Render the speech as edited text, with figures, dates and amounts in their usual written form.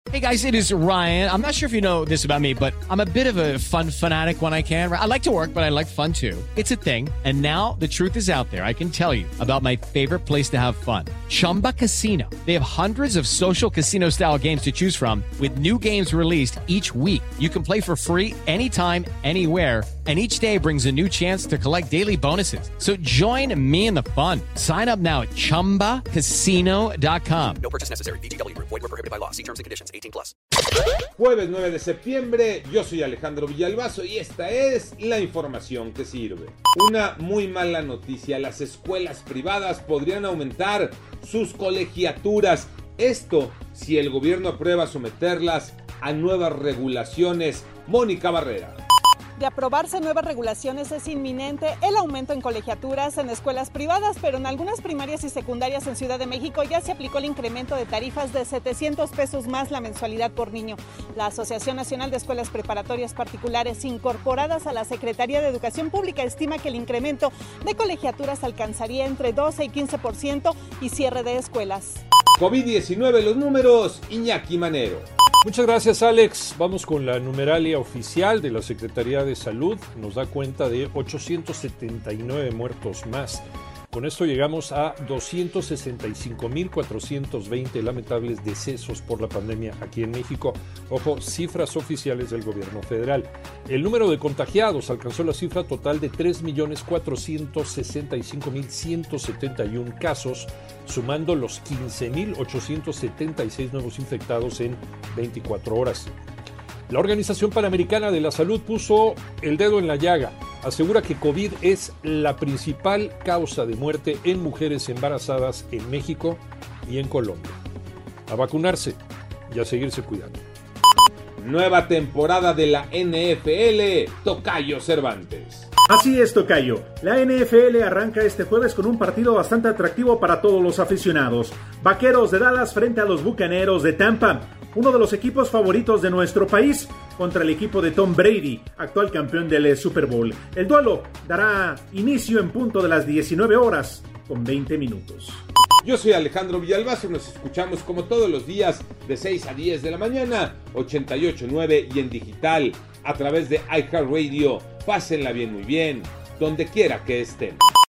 Hey guys, it is Ryan. I'm not sure if you know this about me, but I'm a bit of a fun fanatic when I can. I like to work, but I like fun too. It's a thing. And now the truth is out there. I can tell you about my favorite place to have fun. Chumba Casino. They have hundreds of social casino style games to choose from with new games released each week. You can play for free anytime, anywhere. And each day brings a new chance to collect daily bonuses. So join me in the fun. Sign up now at ChumbaCasino.com. No purchase necessary. VGW. Void where prohibited by law. See terms and conditions. 18+. Jueves 9 de septiembre, yo soy Alejandro Villalbazo y esta es la información que sirve. Una muy mala noticia, las escuelas privadas podrían aumentar sus colegiaturas. Esto si el gobierno aprueba someterlas a nuevas regulaciones. Mónica Barrera. De aprobarse nuevas regulaciones es inminente el aumento en colegiaturas en escuelas privadas, pero en algunas primarias y secundarias en Ciudad de México ya se aplicó el incremento de tarifas de 700 pesos más la mensualidad por niño. La Asociación Nacional de Escuelas Preparatorias Particulares incorporadas a la Secretaría de Educación Pública estima que el incremento de colegiaturas alcanzaría entre 12 y 15% y cierre de escuelas. COVID-19, los números, Iñaki Manero. Muchas gracias, Alex. Vamos con la numeralia oficial de la Secretaría de Salud. Nos da cuenta de 879 muertos más. Con esto llegamos a 265,420 lamentables decesos por la pandemia aquí en México. Ojo, cifras oficiales del gobierno federal. El número de contagiados alcanzó la cifra total de 3,465,171 casos, sumando los 15,876 nuevos infectados en 24 horas. La Organización Panamericana de la Salud puso el dedo en la llaga. Asegura que COVID es la principal causa de muerte en mujeres embarazadas en México y en Colombia. A vacunarse y a seguirse cuidando. Nueva temporada de la NFL, Tocayo Cervantes. Así es, Tocayo. La NFL arranca este jueves con un partido bastante atractivo para todos los aficionados. Vaqueros de Dallas frente a los Bucaneros de Tampa, uno de los equipos favoritos de nuestro país, contra el equipo de Tom Brady, actual campeón del Super Bowl. El duelo dará inicio en punto de las 19 horas con 20 minutos. Yo soy Alejandro Villalbazo, nos escuchamos como todos los días de 6 a 10 de la mañana, 88.9 y en digital a través de iHeartRadio. Pásenla bien, muy bien, donde quiera que estén.